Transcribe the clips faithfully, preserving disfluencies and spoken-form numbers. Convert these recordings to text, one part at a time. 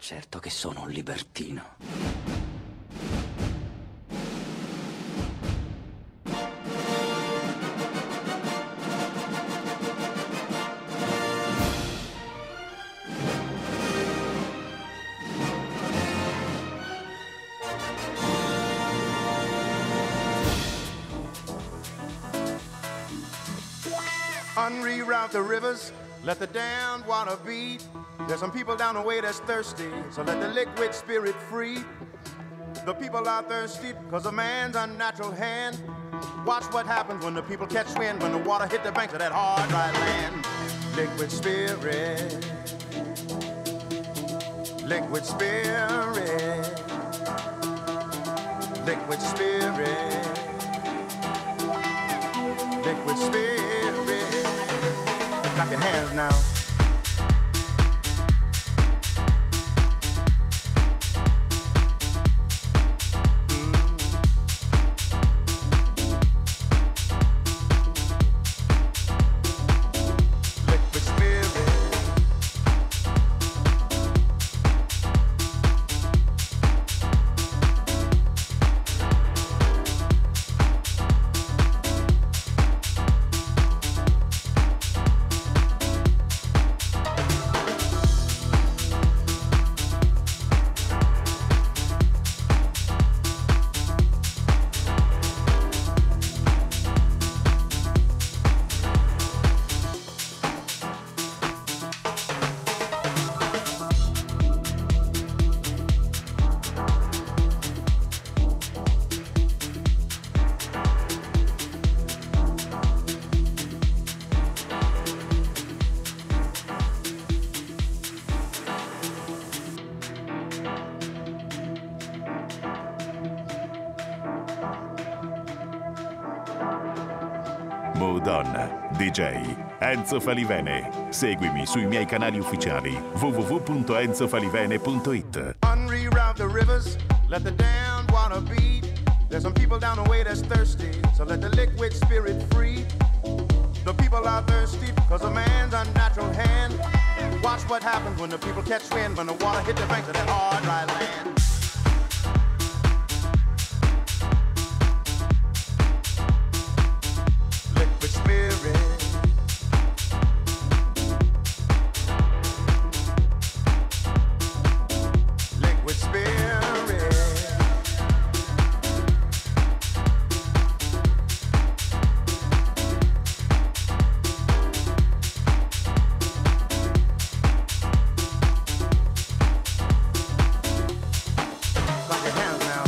Certo che sono un libertino. Unreroute the rivers, let the damned water beat. There's some people down the way that's thirsty, so let the liquid spirit free. The people are thirsty because of man's unnatural hand. Watch what happens when the people catch wind, when the water hit the banks of that hard, dry land. Liquid spirit, liquid spirit, liquid spirit, liquid spirit. Clap your hands now. Moodon, D J Enzo Falivene. Seguimi sui miei canali ufficiali w w w punto enzo falivene punto it. Unreroute the rivers, let the damned water beat. There's some people down the way that's thirsty, so let the liquid spirit free. The people are thirsty because of man's unnatural hand. Watch what happens when the people catch wind, when the water hit the banks of that hard, dry land. Liquid spirit, liquid spirit, clap your hands now.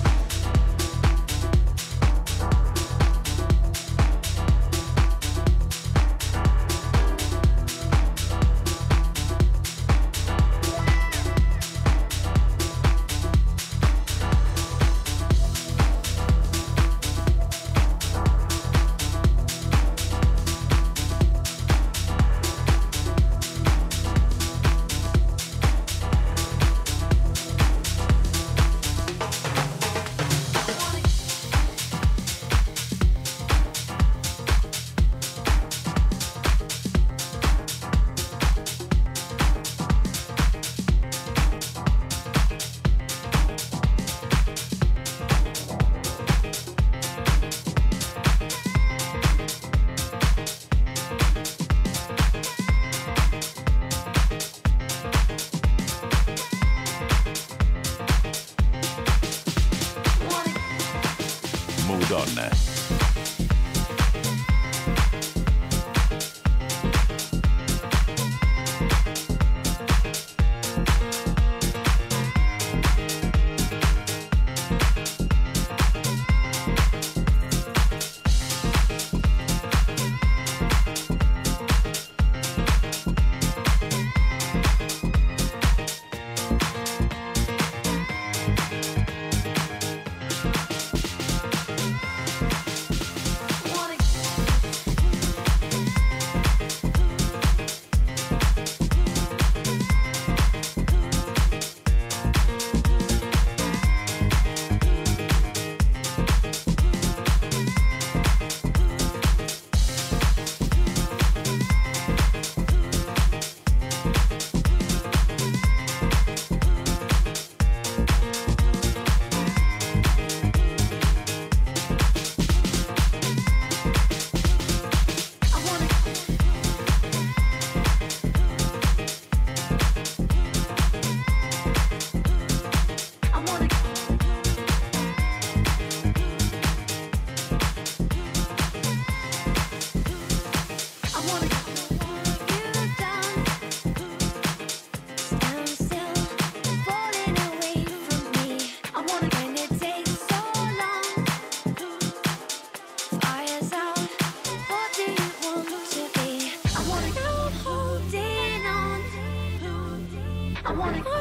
Moodon.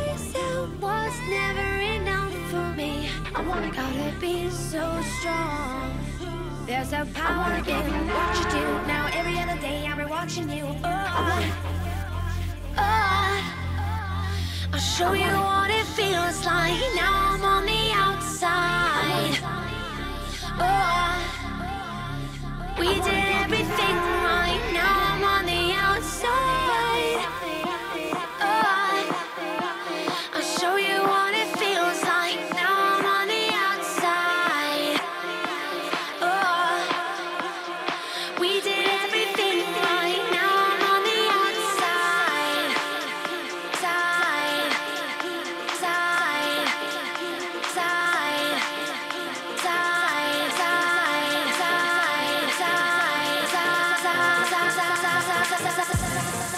myself was never enough for me. I wanna gotta be so strong. There's a power in what you do. Now every other day I'll be watching you. Oh, oh, I'll show you what it feels like. Now I'm on the outside. Oh, we did everything right. Now I'm on the outside. Oh, I'll show you what it feels like. Now I'm on the outside. Oh, we did everything right. Now I'm on the outside. Side, side, side, side, side, side, side, side, side, side, side, side.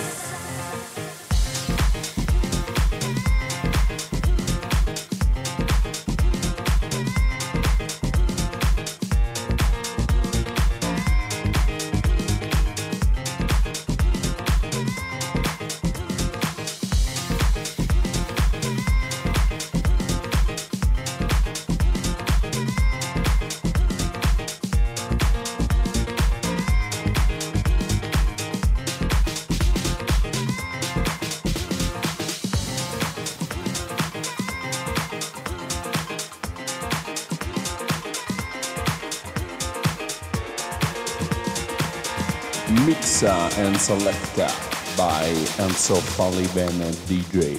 Mixa and Selecta by Enzo Falivene D J.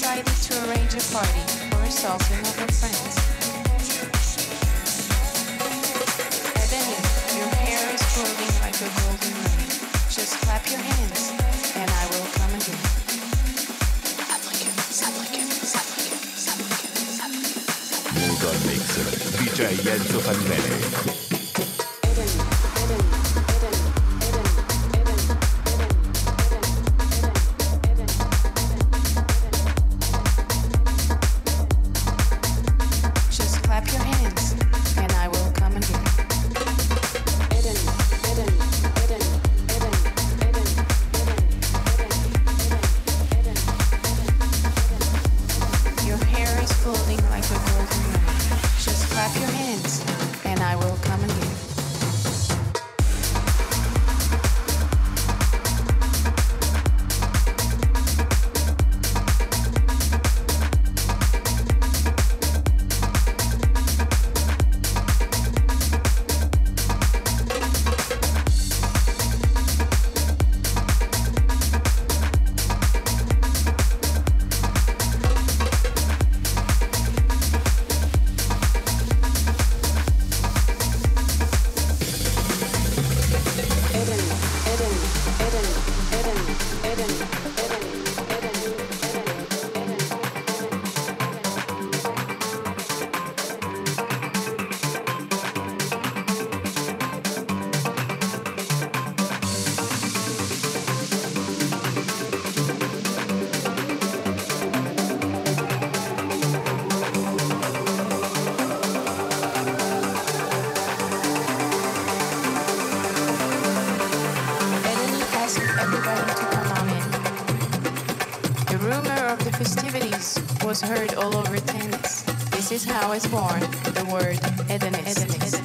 decided to arrange a party for herself and her friends. Ebony, your hair is floating like a golden rain. Just clap your hands, and I will come again. Mood on Mix, D J Enzo Falivene. Was heard all over tennis. This is how it's born, the word hedonist. hedonist.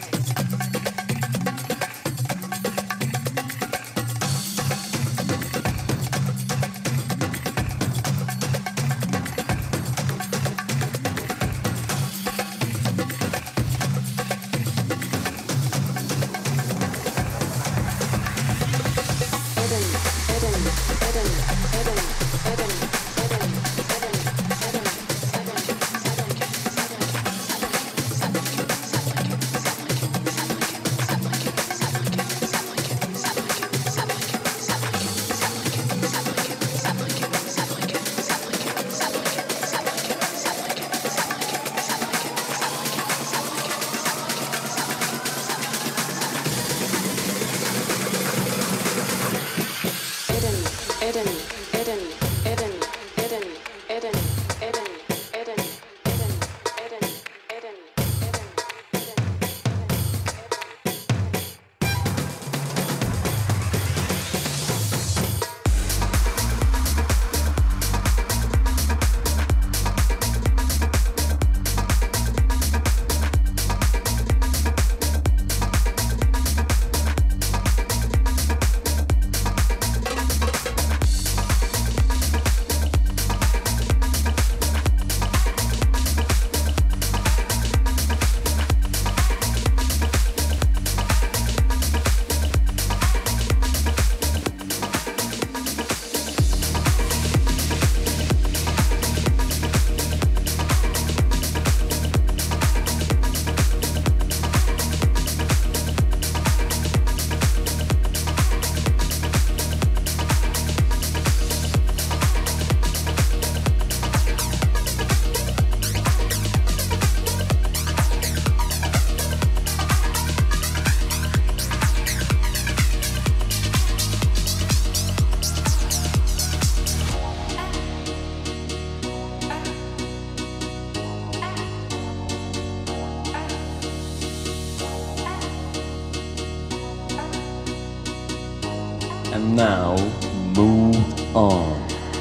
And now, move on.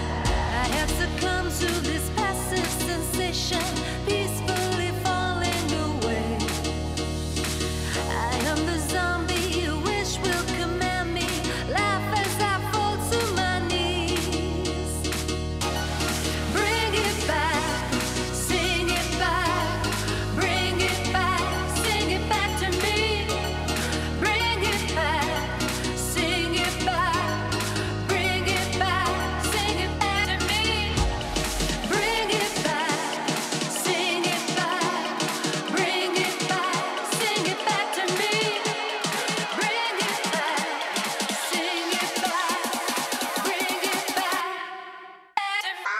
I have succumbed to this passive sensation, peacefully falling away. I am the zombie you wish will command me, laugh as I fall to my knees. Bring it back, sing it back, bring it back, sing it back to me. Bring it back, sing it back, bring it back,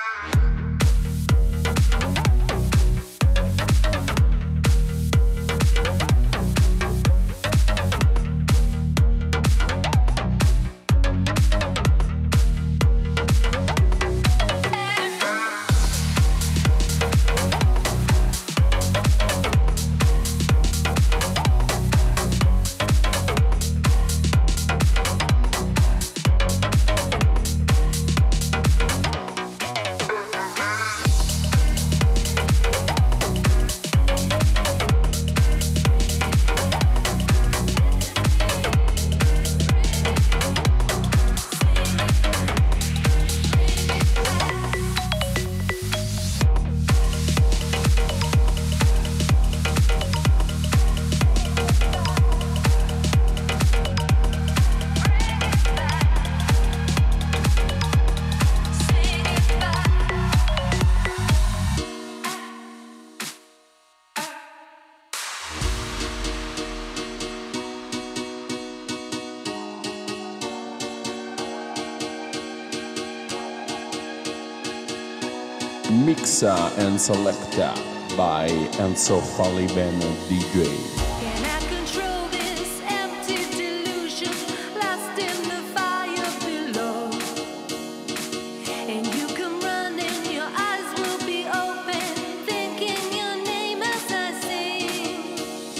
Mixa and Selecta by Enzo Falivene D J. Can I control this empty delusion lost in the fire below? And you come running, your eyes will be open, thinking your name as I sing.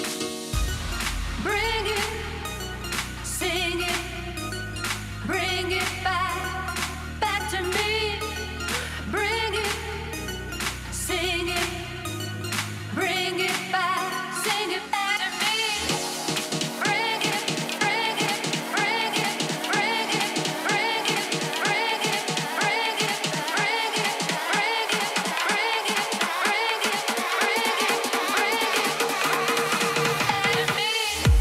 Bring it, sing it, bring it back, back to me. Bring it, sing it, bring it back, sing it back to me. Bring it, bring it, bring it, bring it, bring it, bring it, bring it, bring it, bring it, bring it, bring it, bring it, bring it, bring it back to me.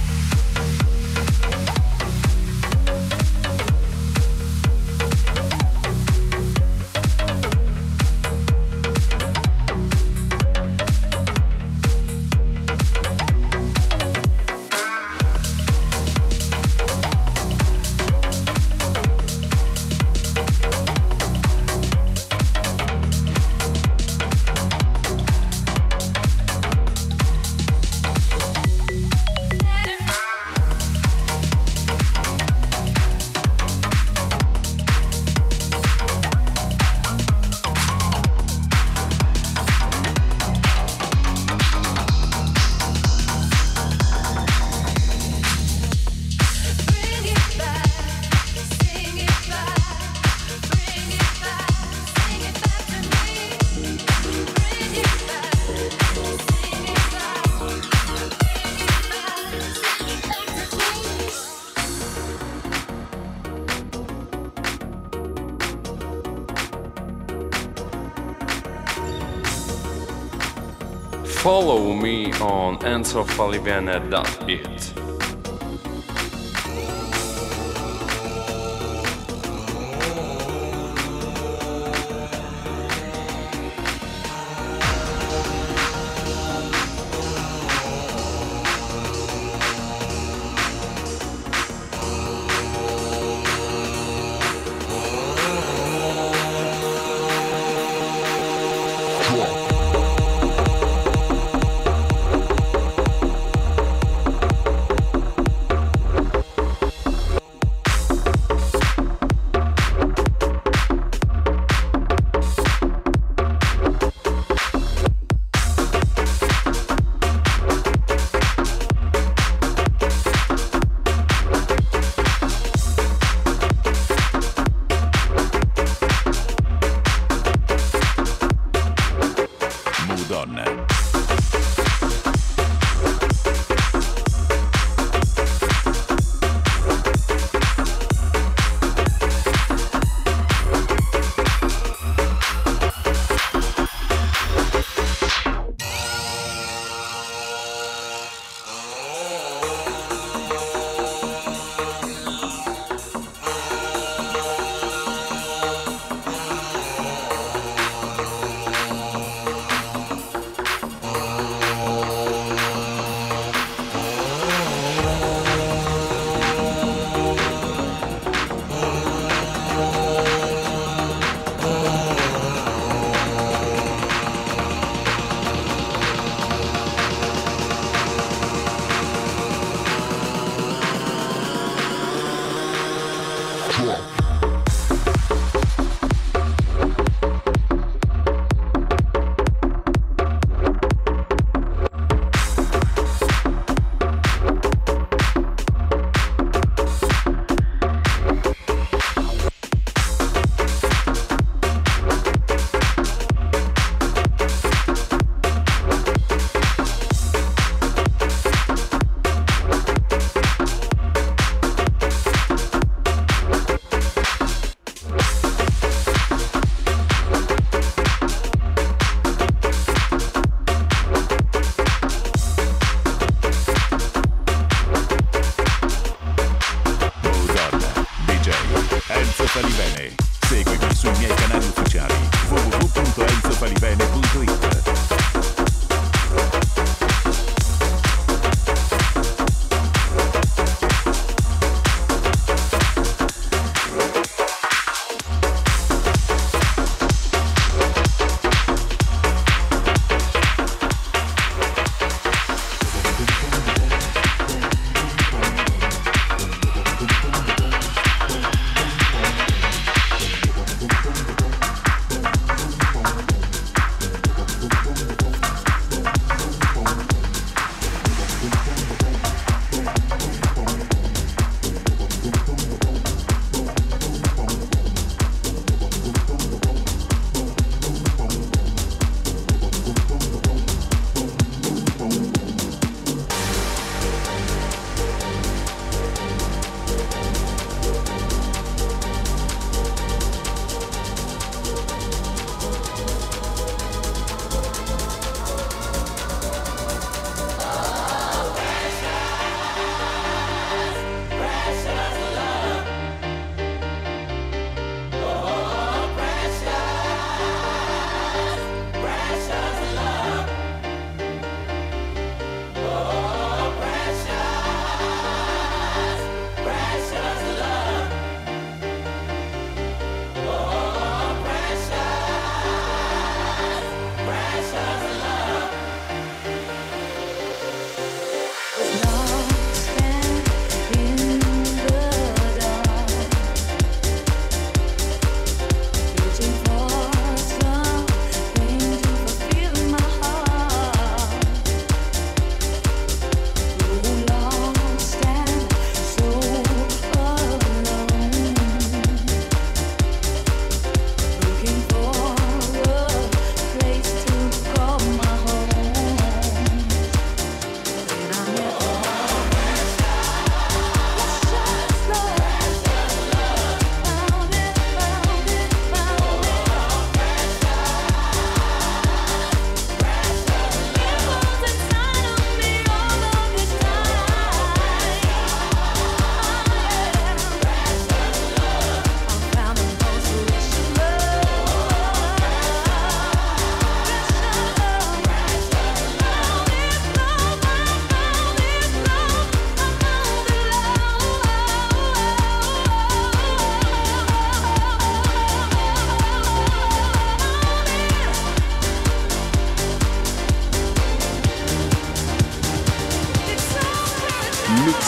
Bring it back, sing it back, bring it back, sing it back to me. Bring it back, sing it back, bring it back, sing it back to Follow me on enzo falivene dot it.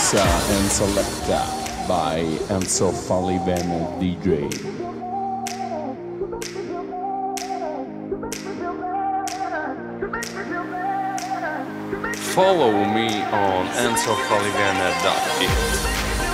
Mixa and Selecta by Enzo Falivene D J. Follow me on enzo falivene dot it.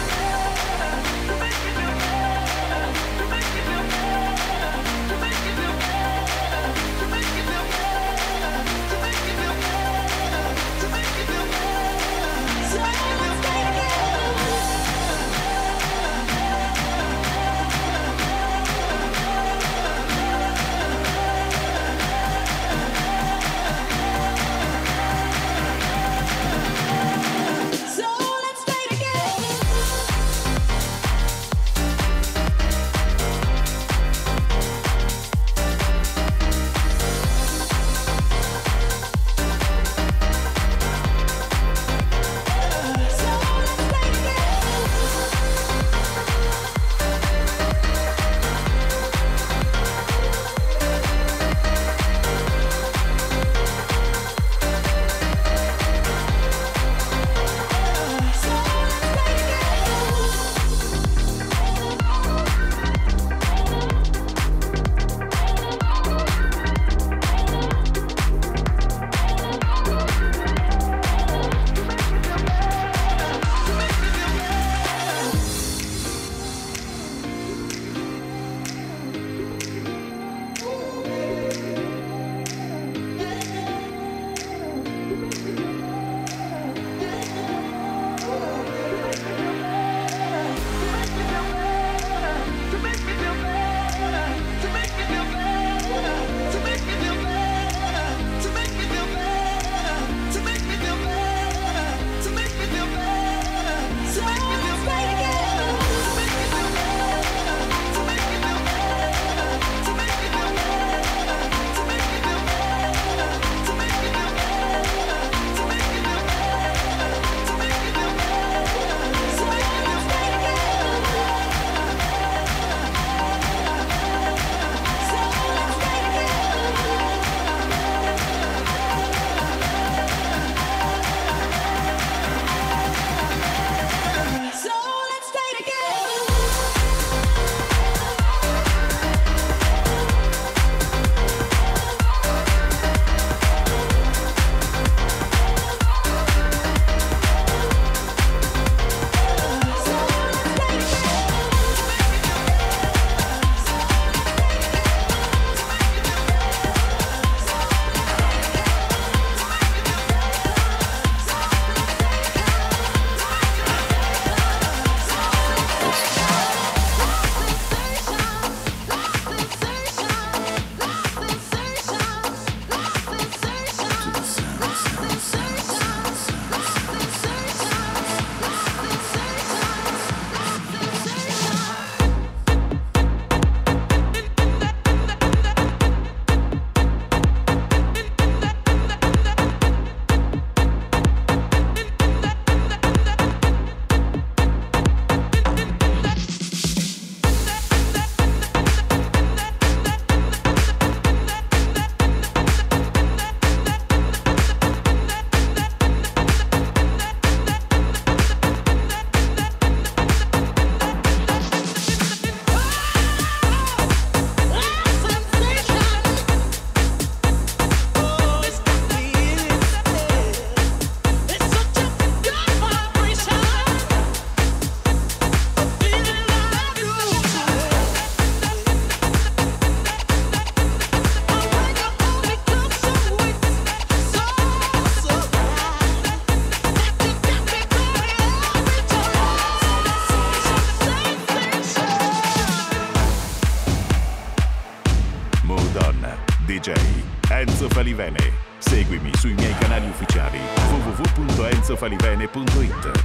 D J Enzo Falivene. Seguimi sui miei canali ufficiali w w w punto enzo falivene punto it.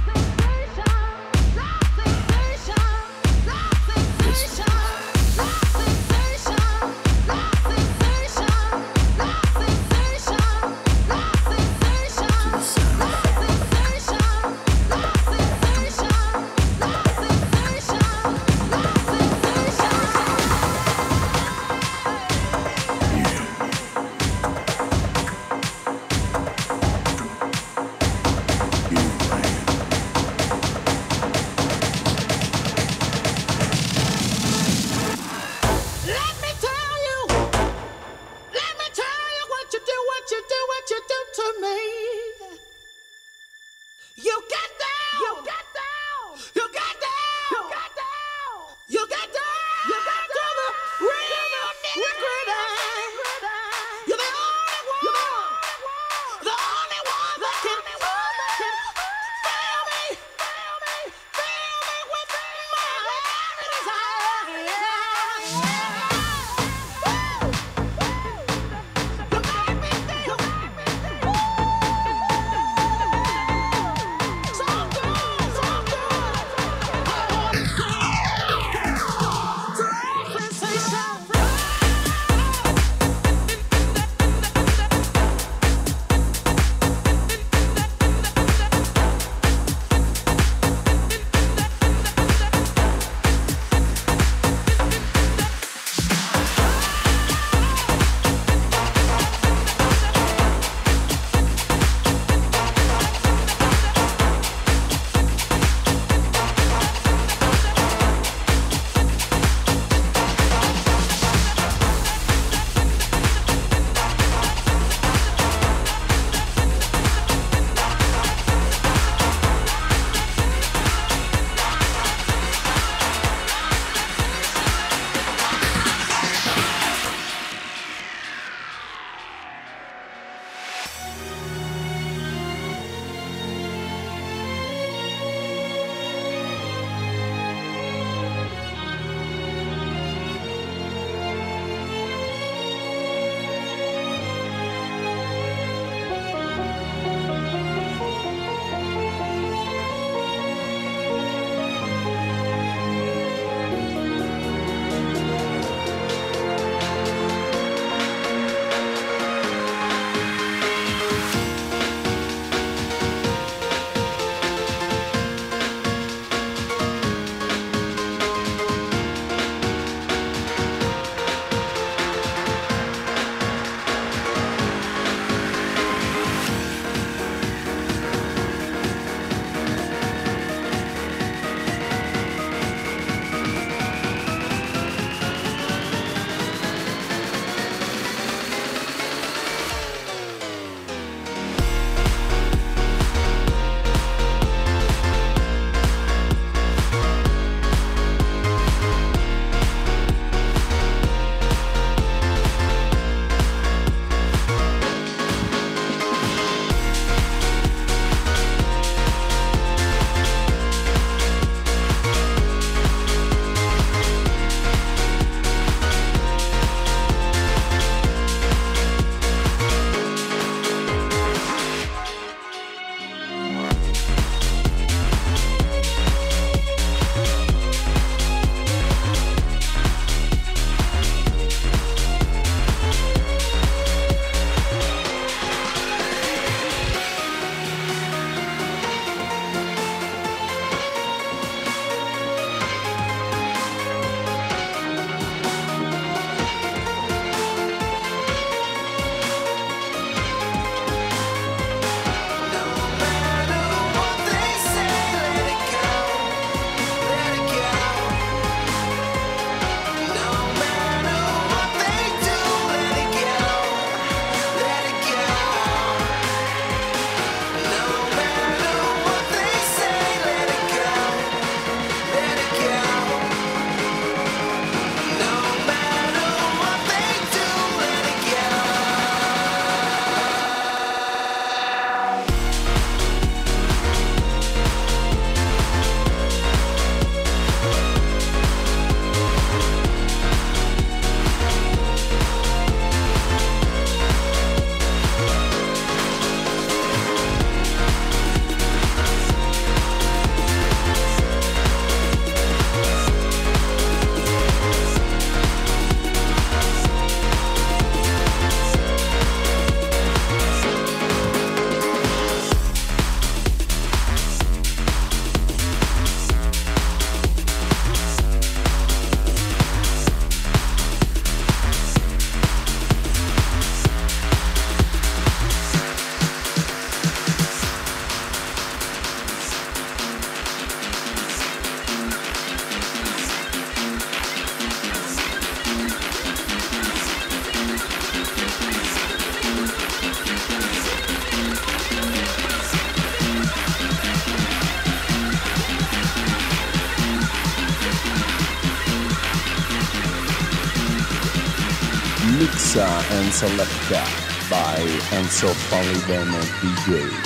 Mix and Selecta by Enzo Falivene D J.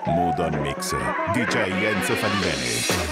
Mood on Mix, D J Enzo Falivene.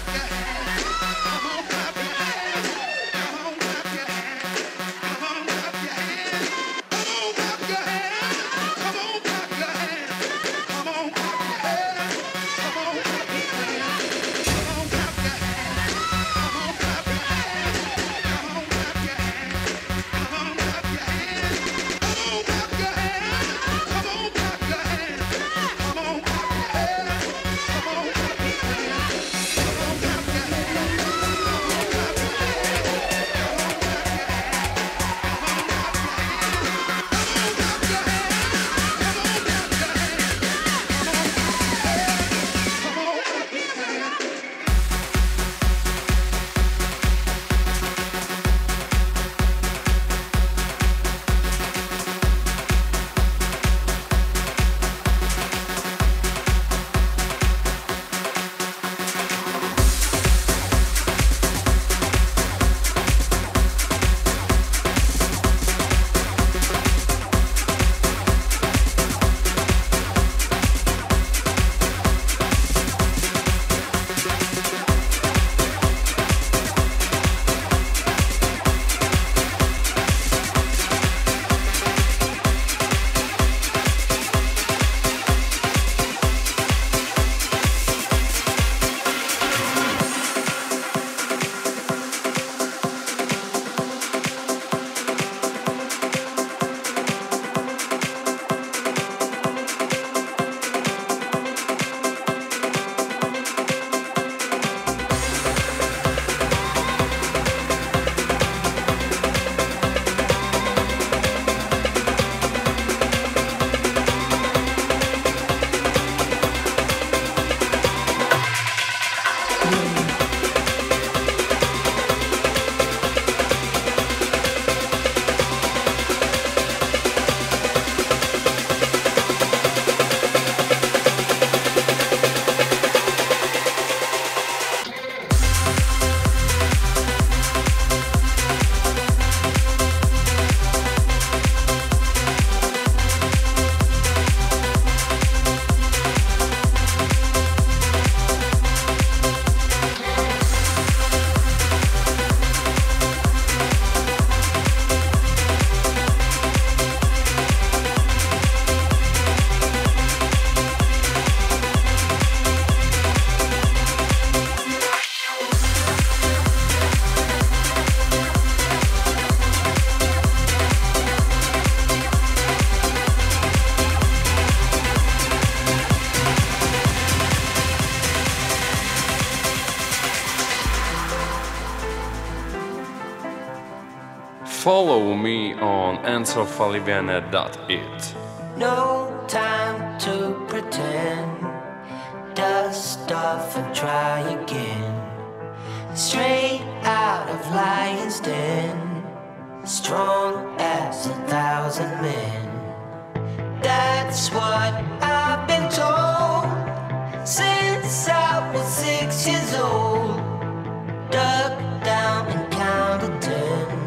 Follow me on enzo falivene dot it. No time to pretend. Dust off and try again. Straight out of Lion's Den. Strong as a thousand men. That's what I've been told since I was six years old. Dug down and counted ten.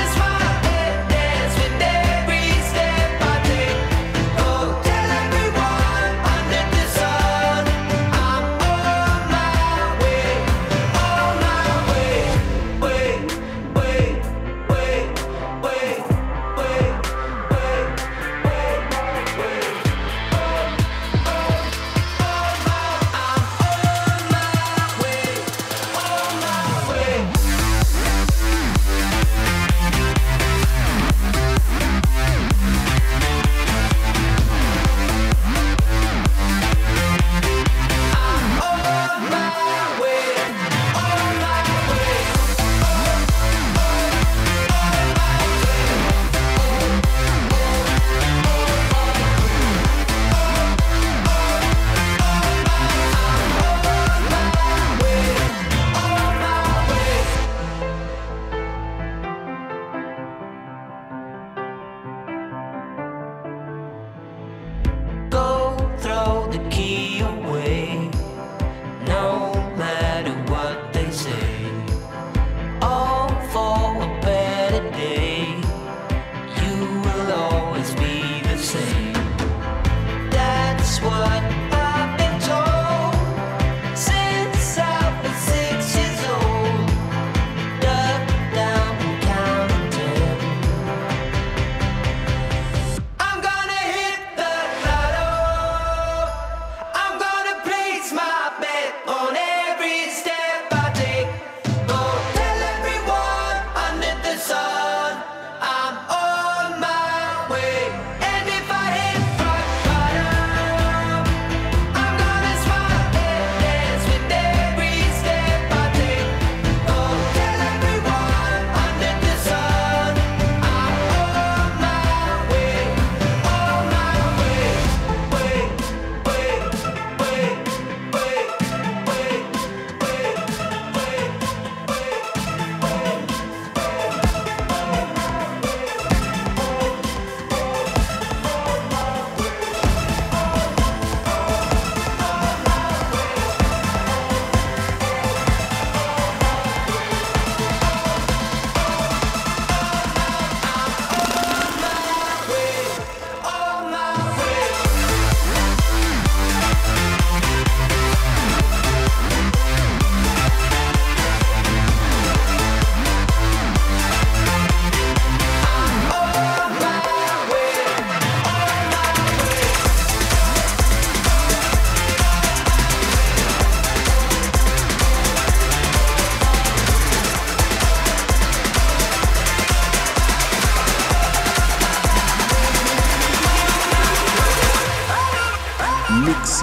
Every step I take, go tell everyone.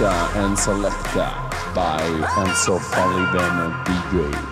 Mixa and Selecta by Enzo Falivene D J.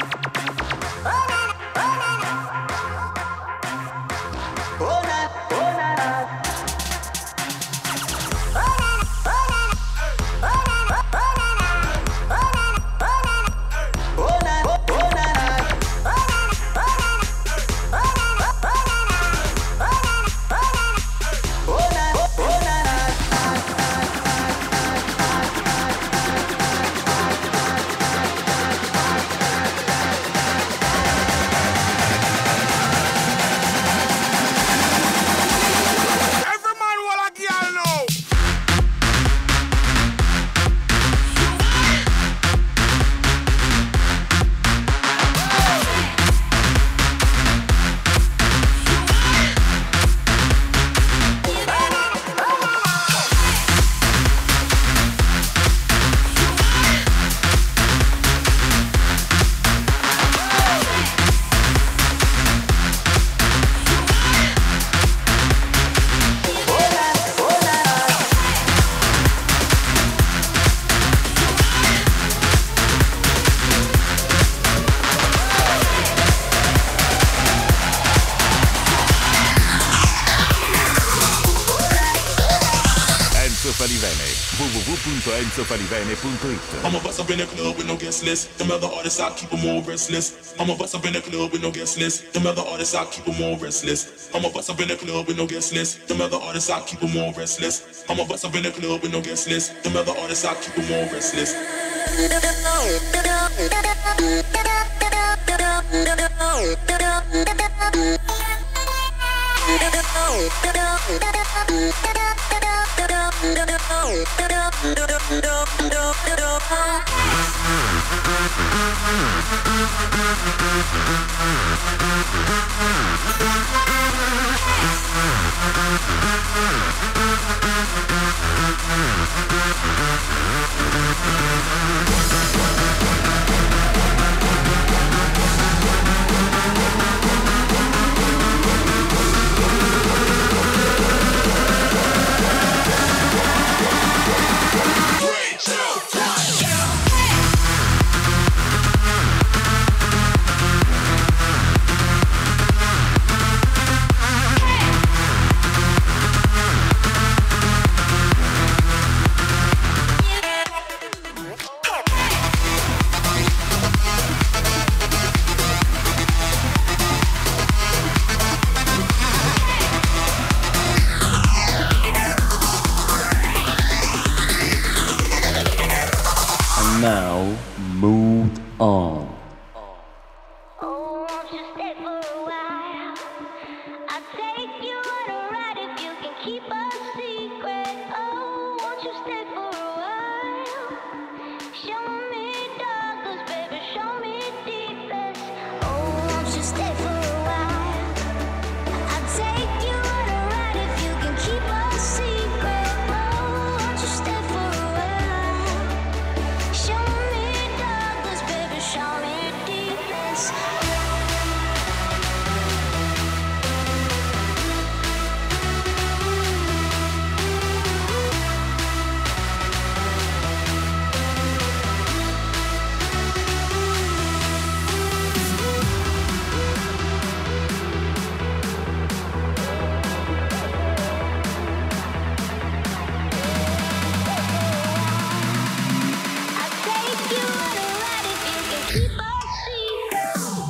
w w w punto enzo falivene punto it. I'm a bust up in the club with no guest list. Them other artists, I keep them all restless. I'm a bust up in the club with no guest list. Them other artists, I keep them all restless. I'm a bust up in the club with no guest list. Them other artists, I keep them all restless. I'm a bust up in the club with no guest list. Them other artists, I keep them all restless. Now, move on. Oh, won't you stay for a while? I'll take you on a ride if you can keep a secret. Oh, won't you stay for a while? Show me darkness, baby, show me deepest. Oh, won't you stay for a while? I'll take you on a ride if you can keep a secret. Oh, won't you stay for a while? Show me darkness, baby, show me deepest. I'll take you on a ride if you can keep a secret.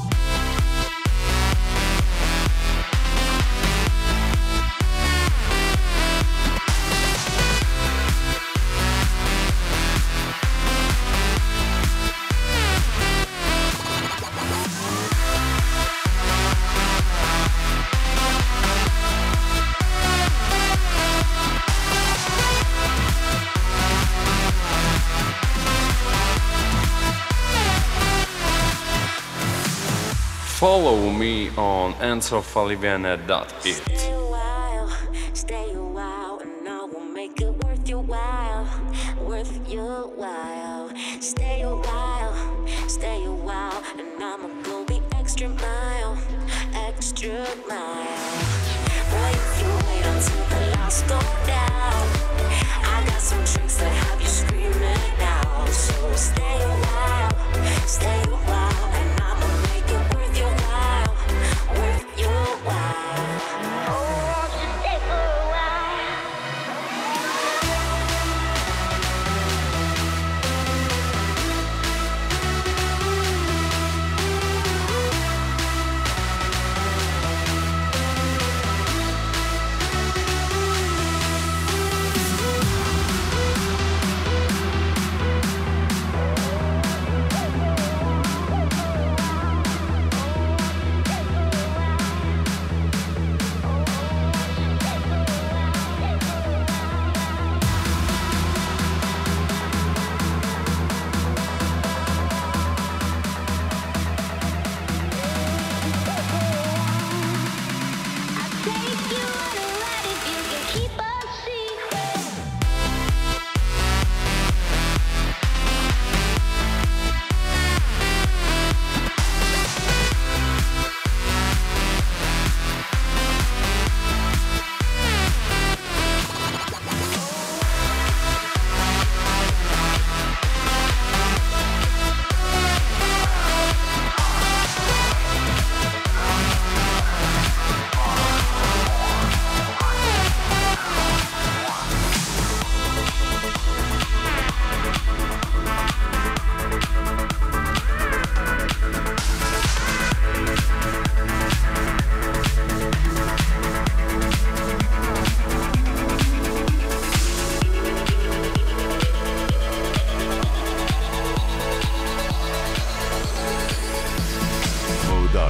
Follow me on enzo falivene dot it. Stay a while, stay a while, and I will make it worth your while, worth your while. Stay a while, stay a while, and I'ma go the extra mile, extra mile. Boy, if you wait until the lights go down, I got some tricks that have you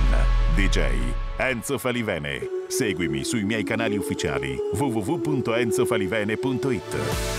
on, D J Enzo Falivene. Seguimi sui miei canali ufficiali w w w punto enzo falivene punto it.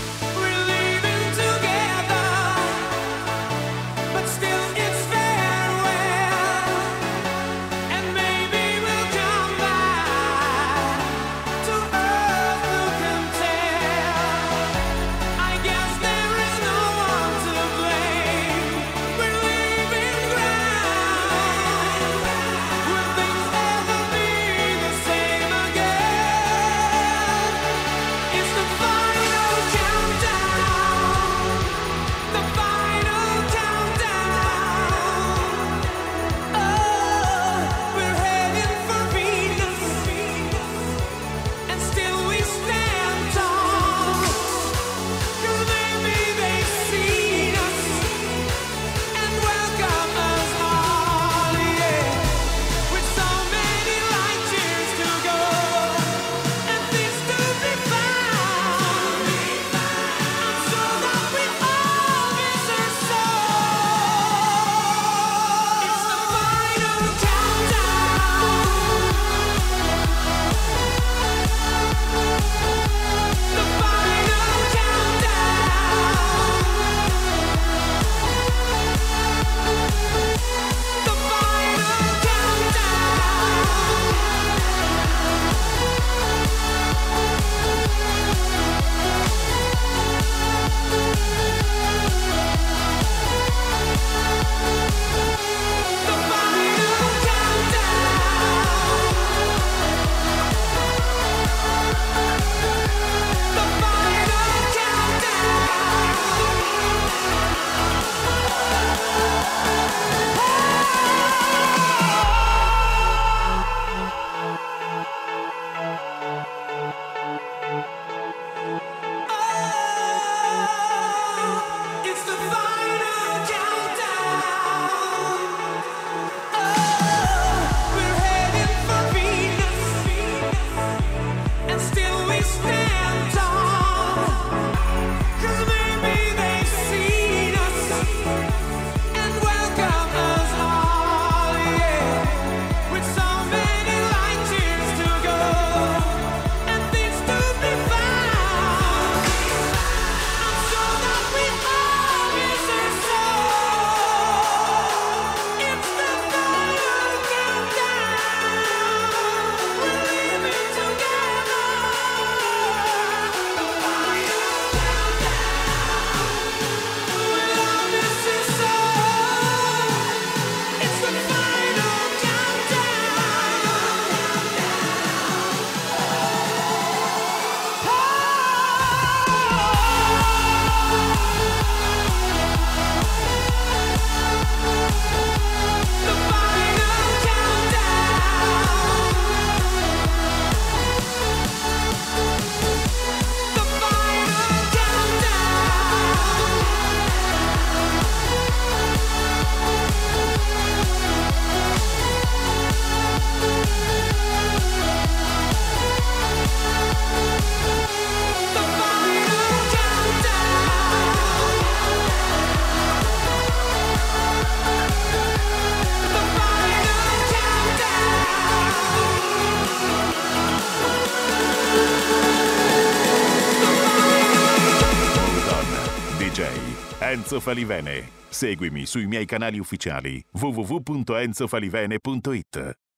Enzo Falivene. Seguimi sui miei canali ufficiali w w w punto enzo falivene punto it.